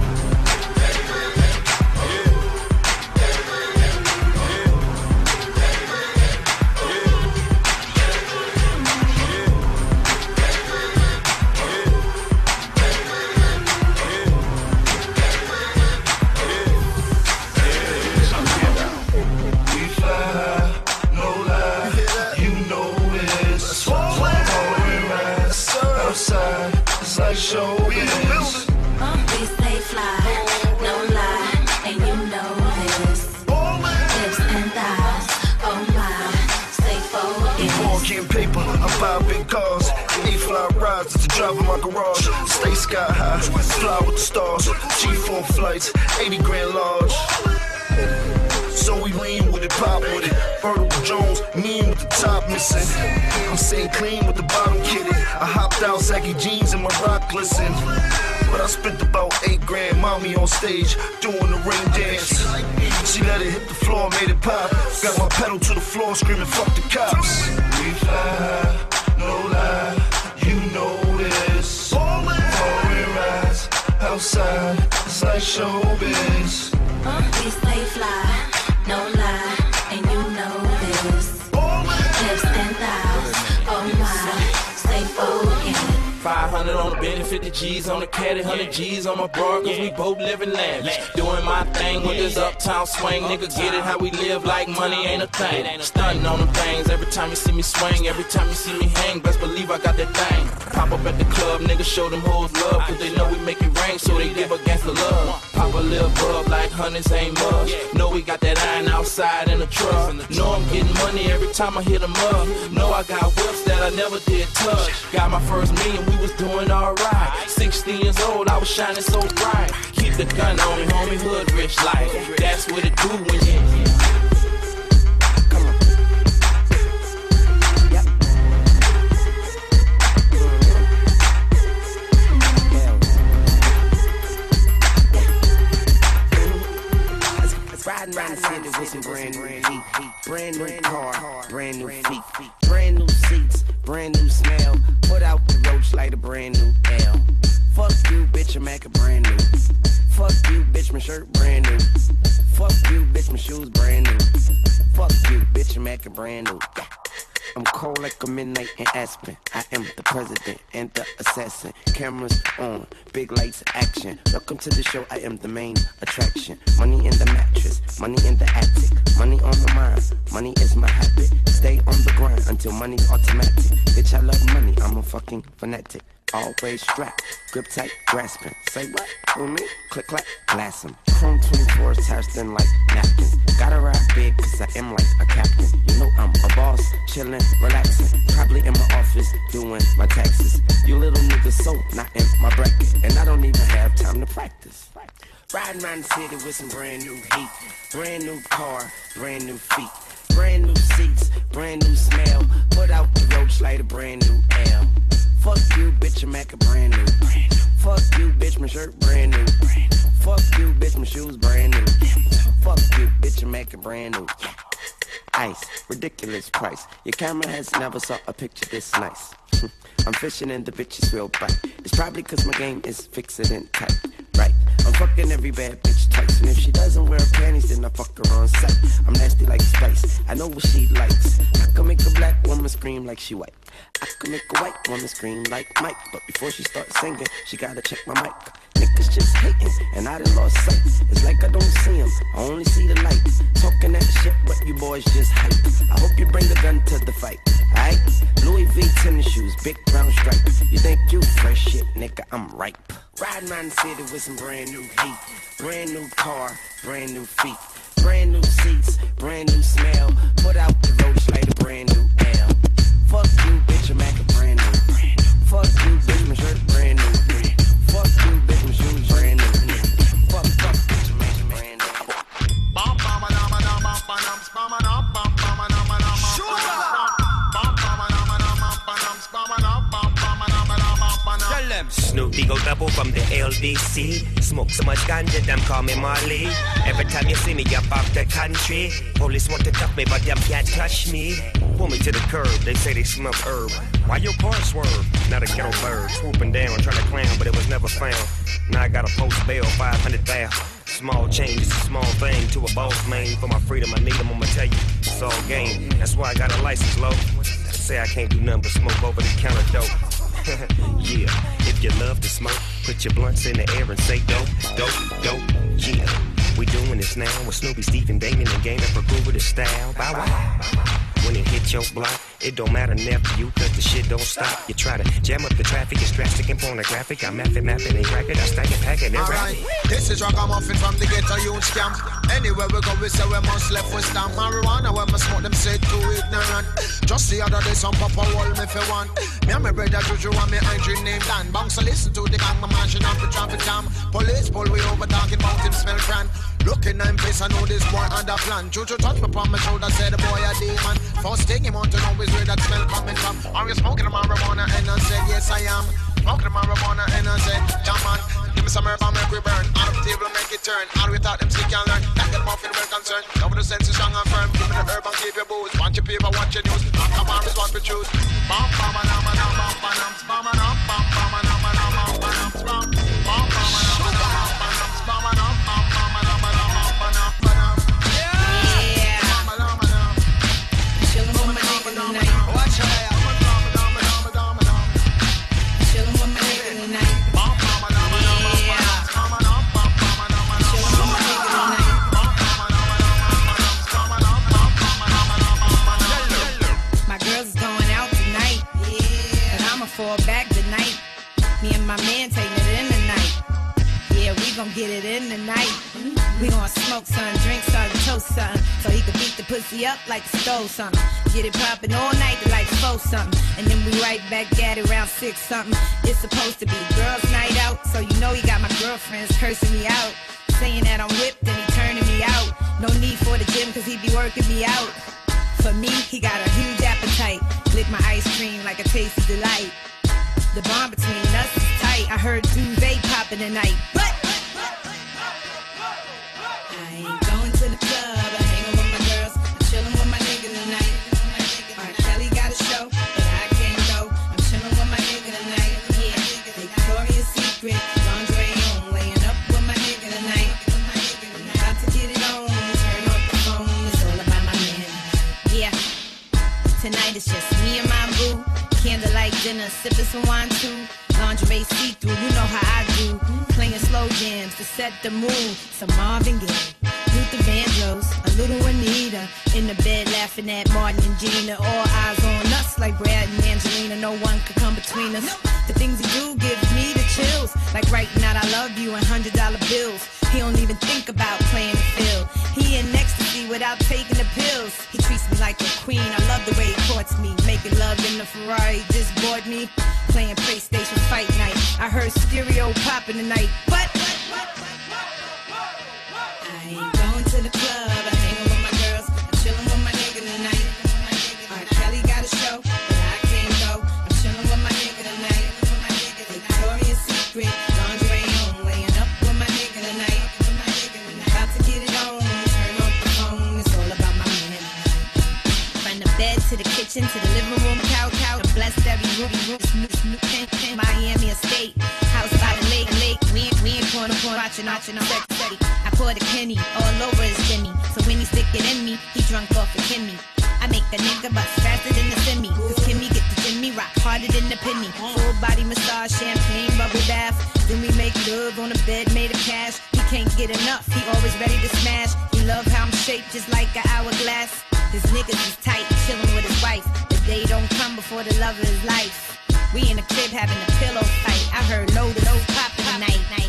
Speaker 5: Showbiz. We stay fly, no lie, and you know this. Lips and thighs, oh my, stay focused.
Speaker 4: Before getting paper, I buy big cars. A-fly rides to drive in my garage. Stay sky high, fly with the stars. G four flights, eighty grand large. So we lean with it, pop with it. Vertical Jones, mean with the top missing. I'm staying clean with the bottom kitted. I hopped out, saggy jeans and my rock glisten. But I spent about eight grand, mommy on stage, doing the ring dance. She let it hit the floor, made it pop. Got my pedal to the floor, screaming, fuck the cops. We fly, no lie, you know this. Foreign rides, outside, it's like showbiz.
Speaker 5: We stay fly, no lie, and you know this. Lips and thighs, oh my, stay focused.
Speaker 2: five hundred on the Bentley, fifty G's on the caddy, one hundred G's on my bra, cause we both living lavish. Doing my thing with this uptown swing. Nigga, get it how we live like money ain't a thing. Stunting on them things every time you see me swing. Every time you see me hang, best believe I got that thing. Pop up at the club, nigga, show them hoes love, cause they know we make it rain, so they give against the love.
Speaker 19: Pop a little bub like honeys ain't much. Know we got that iron outside in the truck. Know I'm getting money every time I hit 'em up. Know I got whips that I never did touch. Got my first million, we was doing alright. sixteen years old, I was shining so bright. Keep the gun on me, homie, hood rich life. That's what it do when you.
Speaker 9: Riding around the city with some brand new heat, brand new car, brand new feet, brand new seats, brand new smell. Put out the roach like a brand new L. Fuck you, bitch, I'm acting brand new. Fuck you, bitch, my shirt brand new. Fuck you, bitch, my shoes brand new. Fuck you, bitch, I'm acting brand new. I'm cold like a midnight in Aspen. I am the president and the assassin. Cameras on, big lights, action. Welcome to the show, I am the main attraction. Money in the mattress, money in the attic. Money on my mind, money is my habit. Stay on the grind until money's automatic. Bitch, I love money, I'm a fucking fanatic. Always strapped, grip tight, grasping. Say what? With me? Click, clack, glass 'em. Chrome twenty-fours, tires thin like napkins. Gotta ride big, cause I am like a captain. You know I'm a boss, chillin', relaxing. Probably in my office, doing my taxes. You little niggas so not in my bracket. And I don't even have time to practice. Riding around the city with some brand new heat. Brand new car, brand new feet. Brand new seats, brand new smell. Put out the roach like a brand new L. Fuck you, bitch, I'm acting brand new. Fuck you, bitch, my shirt brand new. Fuck you, bitch, my shoes brand new. Fuck you, bitch, I'm acting brand new. Ice, ridiculous price. Your camera has never saw a picture this nice. I'm fishing and the bitches will bite. It's probably cause my game is fixed and tight. Right, I'm fucking every bad bitch twice. And if she doesn't wear panties, then I fuck her on sight. I'm nasty like spice, I know what she likes. I can make a black woman scream like she white. I can make a white woman scream like Mike. But before she starts singing, she gotta check my mic. Niggas just hating, and I done lost sight. It's like I don't see them, I only see the light. Talking that shit, but you boys just hype. I hope you bring the gun to the fight, alright? Louis V tennis shoes, big brown stripe. You think you fresh shit, nigga, I'm ripe. Riding around the city with some brand new heat. Brand new car, brand new feet. Brand new seats, brand new smell. Put out the roach like a brand new L. Fuck you, bitch, I'm acting brand new. Fuck you, bitch, my shirt brand new. Fuck you, bitch, my shoes brand new. Fuck, fuck, bitch, I'm acting brand new.
Speaker 20: Snoopy go double from the L D C. Smoke so much ganja, them call me Marley. Every time you see me up off the country, police want to cuff me, but them can't touch me. Pull me to the curb, they say they smell herb. Why your car swerve? Not a ghetto bird, swooping down, trying to clown, but it was never found. Now I got a post bail, five hundred thousand. Small change, it's a small thing to a boss man. For my freedom, I need them, I'ma tell you, it's all game. That's why I got a license low. Say I can't do nothing but smoke over the counter dope. Yeah, if you love to smoke, put your blunts in the air and say dope, dope, dope. Yeah, we doing this now with Snoopy, Stephen, Damon, and Game for cool with his style. Bow wow. When it hit your block, it don't matter nephew, cause the shit don't stop. You try to jam up the traffic, it's drastic and pornographic. I'm mapping, mapping, and crack it, I stack it, pack it, and
Speaker 21: Alright, this is Ragamuffin from the ghetto youth camp. Anywhere we go, we say we must left with stamp. Marijuana, when we smoke them, say too ignorant. Just the other day, some papa wall me for one. Me and my brother Juju and me Andrew named Dan. Bounce to listen to the gang, my mashing up the traffic jam. Police pull we over, talking about him smell grand. Looking at him face, I know this boy under plan. Juju touch me upon my shoulder, say the boy a demon. First thing he want to know is where that smell coming from. Are you smoking the marijuana? And I said, yes I am. Smoking the marijuana, and I said, jam on. Give me some herb and make we burn. Out of the table, make it turn. All we thought them still can learn. That get muffin well concerned. Cover the senses strong and firm. Give me the herb and keep your booze. Watch your paper, watch your news. Not come on, is what we choose. Bam, bam, bam, bam, bam, bam, bam, bam, bam, bam, bam, bam, bam, bam, bam, bam, bam,
Speaker 22: fall back tonight. Me and my man taking it in tonight. Yeah,
Speaker 1: yeah, we gon' get it in tonight. We gon' smoke some, drink some, toast some, so he can beat the pussy up like a stove something. Get it poppin' all night to like four something, and then we right back at it around six something. It's supposed to be girls' night out, so you know he got my girlfriends cursing me out, saying that I'm whipped and he turning me out. No need for the gym cause he be working me out. For me, he got a huge appetite. Lick my ice cream like a tasty delight. The bond between us is tight. I heard duvet poppin' tonight, but I ain't going to the club. I'm hanging with my girls. I'm chillin' with my nigga tonight. R. Kelly got a show, but I can't go. I'm chillin' with my nigga tonight. Yeah, Victoria's Secret, lingerie on, laying up with my nigga tonight. I'm about to get it on. Turn off the phone. It's all about my man. Yeah, tonight it's just me and my boo. Candlelight dinner, sipping some wine too. Lingerie see-through, you know how I do. Playing slow jams to set the mood. Some Marvin Gaye, Luther Vandross, a little Anita. In the bed laughing at Martin and Gina. All eyes on us like Brad and Angelina. No one could come between us. The things he do give me the chills. Like writing out I love you and hundred dollar bills. He don't even think about playing the field. He in ecstasy without taking the pills. He treats me like a queen. I love the way he courts me. Making love in the Ferrari just bored me. Playing PlayStation Fight Night. I heard stereo popping tonight, but I ain't going to the club. I'm hanging with my girls. I'm chilling with my nigga tonight. R. Kelly got a show, but I can't go. I'm chilling with my nigga tonight. Victoria's Secret, lingerie on, laying up with my nigga tonight. I'm about to get it on. Turn off the phone. It's all about my man. From the bed to the kitchen to the living room couch, couch. Blessed every Ruby Roots, Miami Estate, house by the lake, lake. We ain't, we ain't corner, corner, watching, watching, I'm steady, steady. I poured a penny all over his Jimmy, so when he stick it in me, he drunk off a Kimmy. I make a nigga bust faster than the semi, cause Kimmy get the Jimmy rock harder than the penny. Full body massage, champagne, bubble bath. Then we make love on the bed made of cash. He can't get enough, he always ready to smash. He love how I'm shaped just like an hourglass. His niggas is tight, chillin' with his wife. The day don't come before the love of his life. We in the crib having a pillow fight. I heard load of those poppin' tonight, night.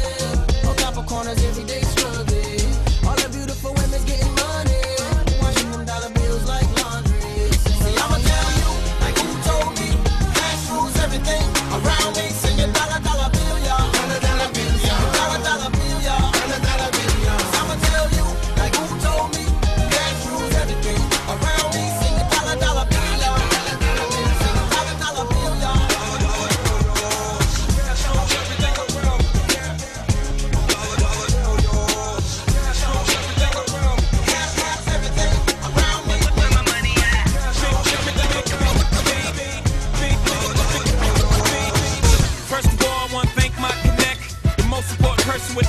Speaker 7: Every day struggling. All the beautiful women's getting money. Watching them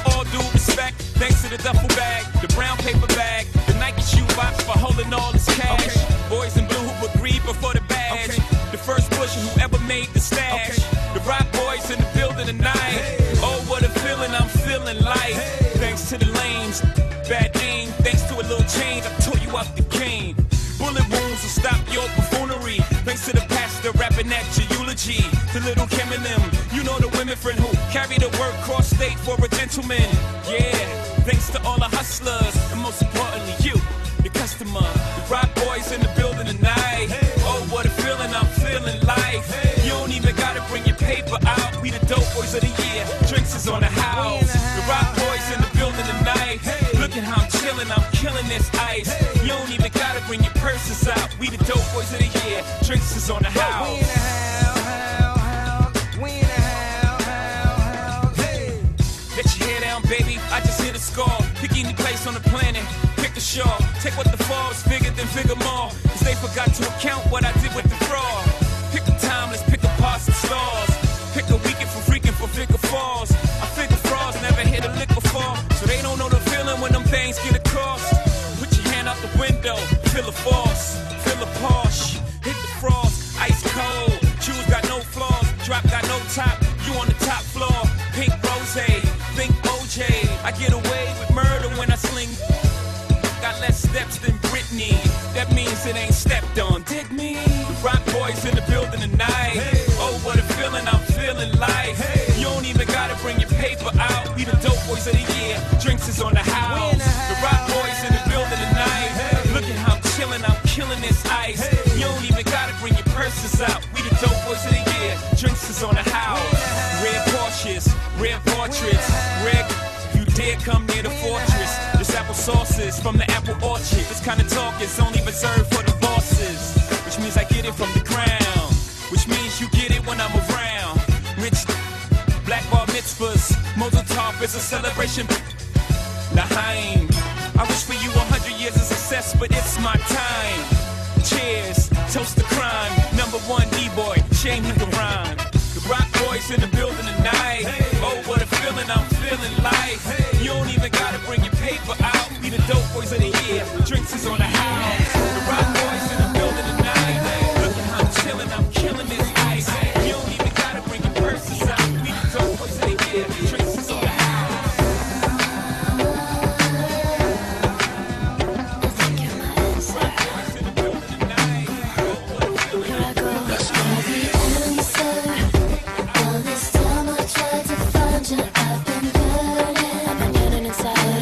Speaker 8: all due respect, thanks to the duffel bag, the brown paper bag, the Nike shoe box for holding all this cash. Okay. Boys in blue who agreed before the badge. Okay. The first pusher who ever made the stash. Okay. The rock boys in the building tonight. Hey. Oh, what a feeling I'm feeling like. Hey. Thanks to the lanes, bad thing. Thanks to a little change, I tore you out the game. Bullet wounds will stop your buffoonery. Thanks to the pastor rapping at your eulogy. To Little Kim and them, you know the women friend who carry the word cross state for a gentleman. Yeah, thanks to all the hustlers, and most importantly you, the customer. The rock boys in the building tonight. Hey. Oh, what a feeling I'm feeling like. Hey. You don't even gotta bring your paper out. We the dope boys of the year. Drinks is on the house. The rock boys in the building tonight. Hey. Look at how I'm chilling, I'm killing this ice. Hey. You don't even gotta bring your purses out. We the dope boys of the year. Drinks is on the house. We in the house, house, house. We in the house, house, house. Hey. Let your hair down, baby. I just hit a score. Pick any place on the planet. Pick a show. Take what the fall is bigger than figure more. Cause they forgot to account what I did with the fraud. Pick a time, let's pick a parts and stars. Pick a weekend for freaking for figure falls. I figure frauds never hit a lick before. So they don't know the feeling when them things get across. Put your hand out the window, feel a force, feel a Porsche, hit the frost, ice cold. Shoes got no flaws, drop got no top. You on the top floor, pink rose, think O J. I get away with murder when I sling. Got less steps than Britney. That means it ain't stepped on. Dig me? The rock boys in the building tonight. Hey. Oh, what a feeling I'm feeling like. Hey. You don't even gotta bring your paper out. We the dope boys of the year. Drinks is on the house. The, house. The rock boys in the building tonight. Hey. Look at how I'm chilling, I'm killing this ice. Hey. You don't even gotta bring your purses out. We the dope boys of the year. Drinks is on the house. Red Porsches, red portraits, red. You dare come near the fortress. This apple sauces from the apple orchard. This kind of talk is only reserved for the bosses. Which means I get it from the ground. Which means you get it when I'm around. Rich black bar mitzvahs. Mazel tov is a celebration. L'chaim. I wish for you a hundred years of success, but it's my time. Cheers, toast to crime. Number one D-boy, shame he can rhyme. The rock boys in the building tonight. Hey. Oh, what a feeling I'm feeling like. Hey. You don't even gotta bring your paper out. We the dope boys of the year. Drinks is on the house. The rock boys in the building tonight. Hey. Look at how I'm chilling, I'm killing this ice. Hey. You don't even gotta bring your purses out. We the dope boys of the year. Drinks is on the house.
Speaker 3: I've been yearning inside.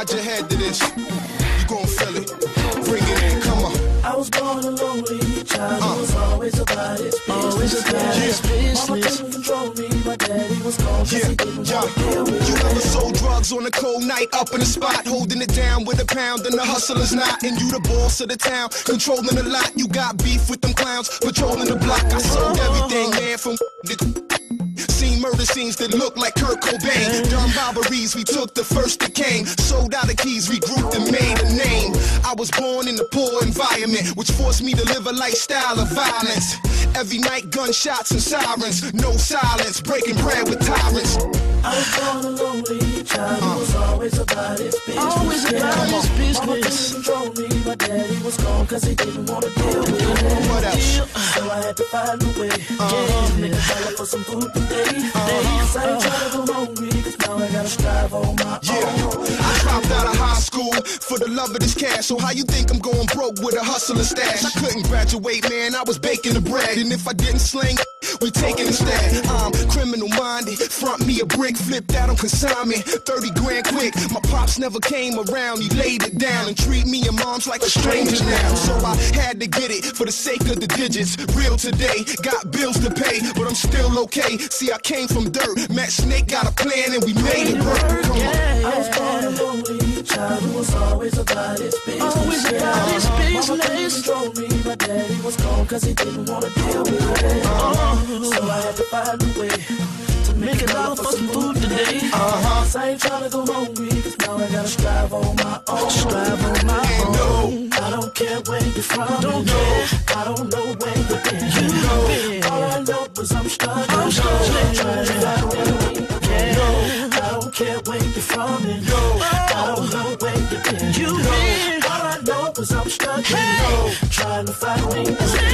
Speaker 18: nod your head to this. You gon' feel it. Bring it in, come on.
Speaker 7: I was born a lonely child. Uh. It was always about his business. Always about his business. Mama couldn't control me. My daddy was gone. Yeah, he didn't yeah. want to deal with
Speaker 18: you ever sold drugs on a cold night up in the spot, holding it down with a pound and the hustler's not. And you the boss of the town, controlling a lot. You got beef with them clowns, patrolling the block. I sold everything, man, from the seen murder scenes that look like Kurt Cobain. Dumb robberies, we took the first that came. Sold out the keys, regrouped and made a name. I was born in a poor environment, which forced me to live a lifestyle of violence. Every night, gunshots and sirens. No silence, breaking bread with tyrants.
Speaker 7: I was born a lonely child. Uh. It was always about his business. Always about his business. Mama couldn't control me. My daddy was gone cause he didn't want to deal with it.
Speaker 18: What else?
Speaker 7: So I had to find a way. Uh-huh. Yeah, make a dollar for some food today. Uh-huh. I ain't trying to go hungry cause now I gotta strive on my
Speaker 18: yeah. own. I dropped out of high school for the love of this cash. So how you think I'm going broke with a hustler stash? I couldn't graduate, man. I was baking the bread. And if I didn't sling, we taking instead. I'm criminal minded. Front me a brick, flipped out on consignment. thirty grand quick. My pops never came around. He laid it down and treat me and moms like a stranger now. So I had to get it for the sake of the digits. Real today, got bills to pay, but I'm still okay. See, I came from dirt, met Snake, got a plan, and we made it work. Come on.
Speaker 7: I was born a lonely child who was always about his business. Always about his business. Mama couldn't control me. My daddy was gone cause he didn't want to deal with it. Uh-huh. So I had to find a way to make a dollar for some food today. Uh-huh. So I ain't trying to go hungry cause now I gotta strive on my own. Strive on my and own. No. I don't care where you're from. Don't know. I don't know where you've been. You know. All I know is I'm struggling. I'm struggling. Trying to find a way. No, I don't care where you're from and no, I don't know where you've been. You know, all I know is I'm struggling, hey. no, trying to find me.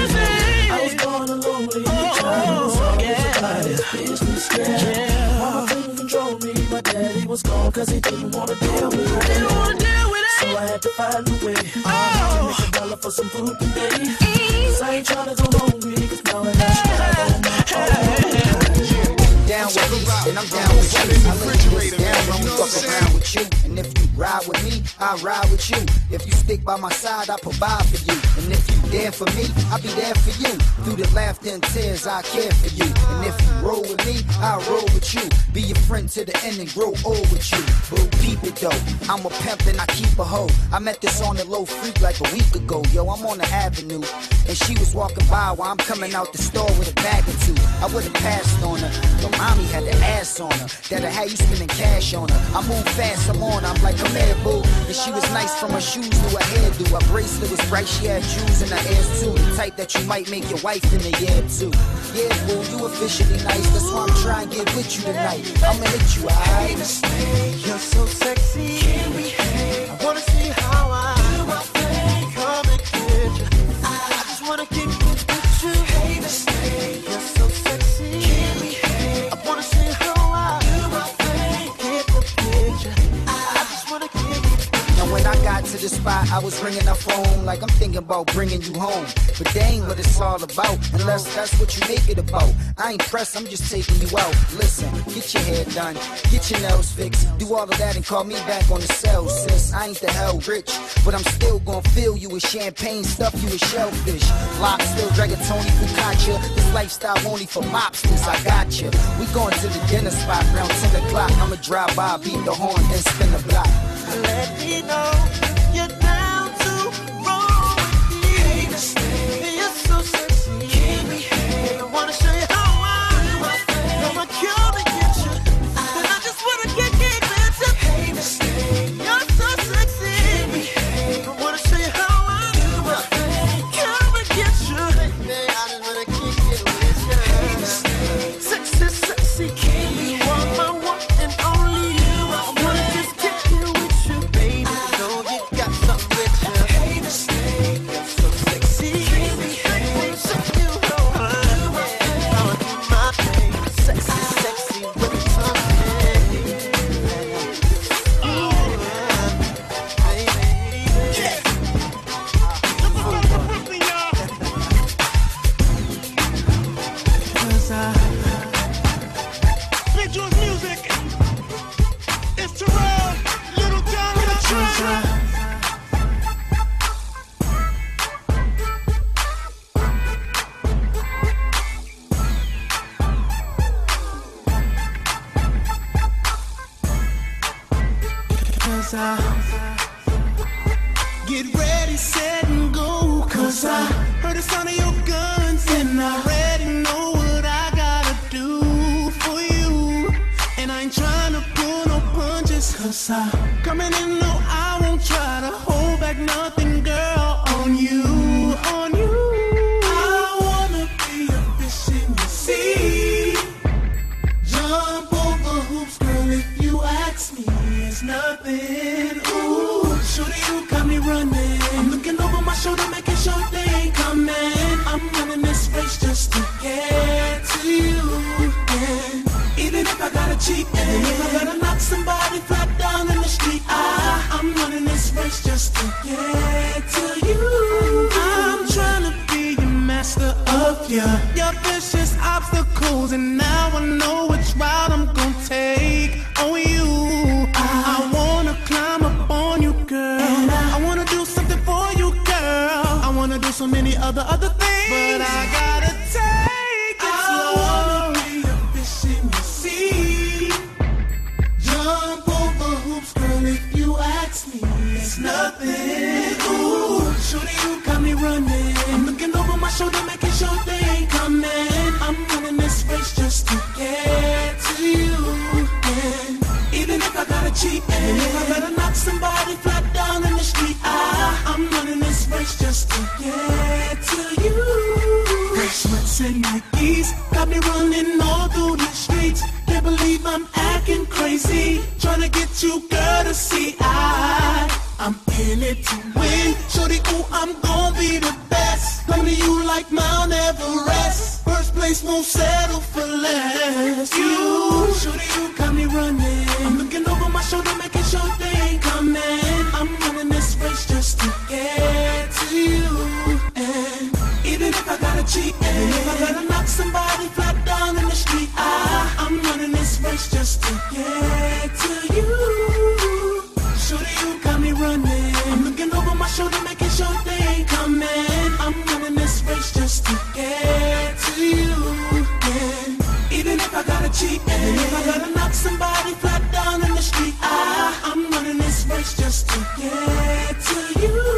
Speaker 7: I was born a lonely child, was always about his business. Yeah. Yeah. Mama couldn't control me, my daddy was gone cause he didn't want to deal with it. Didn't want to deal with it. So I had to find a way oh. to make a dollar for some food today. Cause I ain't trying to go hungry cause now I got strive on my own.
Speaker 10: Down with me, and I'm down with you. I lay this down when we fuck around with you. And if you ride with me, I ride with you. If you stick by my side, I provide for you. And if you there for me, I'll be there for you. Through the laughter and tears, I care for you. And if you roll with me, I'll roll with you. Be your friend to the end and grow old with you. But peep it though, I'm a pimp and I keep a hoe. I met this on the low freak like a week ago. Yo, I'm on the avenue, and she was walking by while I'm coming out the store with a bag or two. I would've passed on her, but mommy had the ass on her. That'll have you spending cash on her. I move fast, I'm on her. I'm like, come here, boo. And she was nice from her shoes to her hairdo. Her bracelet was bright, she had jewels in her ears too. The type that you might make your wife in a year too. Yeah, boo, you officially nice. That's why I'm trying to get with you tonight. I'ma hit you, alright?
Speaker 7: You're so sexy. Can we hang? I wanna see how I do my thing. Come and get you. I just wanna get with you. Hey, mistake. You're so sexy. Can we hang? I wanna see how I do my thing. Get the picture. I just wanna get with you.
Speaker 10: Now when I got to the spot, I was ringing her phone like I'm thinking about bringing you home. But that ain't what it's all about, unless that's what you make it about. I ain't pressed, I'm just taking you out. Listen, get your hair done, get your nails fixed, do all of that and call me back on the cell, sis. I ain't the hell rich, but I'm still gonna fill you with champagne, stuff you with shellfish. Lock still dragging Tony Focaccia, this lifestyle only for mobsters, I got you. We going to the dinner spot around ten o'clock, I'ma drive by, beat the horn, then spin the block.
Speaker 7: Let me know you're down to roll with me. Hey, mistake. You're so sexy. Can we hang? I wanna show you how I do my thing. I'ma come and get you. Then I just wanna get get with you. Hey, mistake. You're so sexy. Can we hang? I wanna show you how I do my thing. Come and get you. Baby, I just wanna kick it with you. Hey, mistake. Sexy, sexy. Can we hang? You are my one and only. I wanna just kick it with you, baby. Know you got something
Speaker 11: Cause I get ready, set, and go. Cause I heard the sound of your guns, and I already know what I gotta do for you. And I ain't trying to pull no punches, cause I coming in, no, I won't try to hold back nothing, girl, on you, on you. I wanna be a fish in the sea. Jump over hoops, girl, if you ask me, it's nothing. Ooh, shorty, you got me running. I'm looking over my shoulder, making sure they ain't coming. I'm running this race just to get to you. And even if I gotta cheat, and if I gotta knock somebody flat down in the street, I, I'm running this race just to get to you. I'm trying to be your master of your, your vicious obstacles, and now I know which route I'm gonna take on you. I, I wanna climb up on you, girl. I, I wanna do something for you, girl. I wanna do so many other other things, but I gotta take it slow. I wanna be a fish in the sea. Jump over hoops, girl, if you ask me, it's nothing. Ooh, shorty, you got me running. I'm looking over my shoulder, making sure they ain't coming. I'm running this race just to get to you. And even if I gotta cheat, and if I gotta knock somebody flat down in the street, I, I'm running this race just to get to you. Fresh sweats and Nikes got me running all through the streets. Can't believe I'm acting crazy, trying to get you, girl, to see I, I'm in it to win. Shorty, ooh, I'm gonna be the best. Come to you like Mount Everest. First place, won't settle for less. You, shorty, you got me running. I'm looking over my shoulder, making sure they ain't coming. I'm running this race just to get to you. And even if I gotta cheat, and if I gotta knock somebody flat down in the street, I, I'm running this race just to get to you. Shorty, you got me running. I'm looking over my shoulder, making sure they ain't coming. I'm running this race just to get to you. And even if I gotta cheat, and if I gotta knock somebody flat down in the street, I, I'm running this race just to get to you.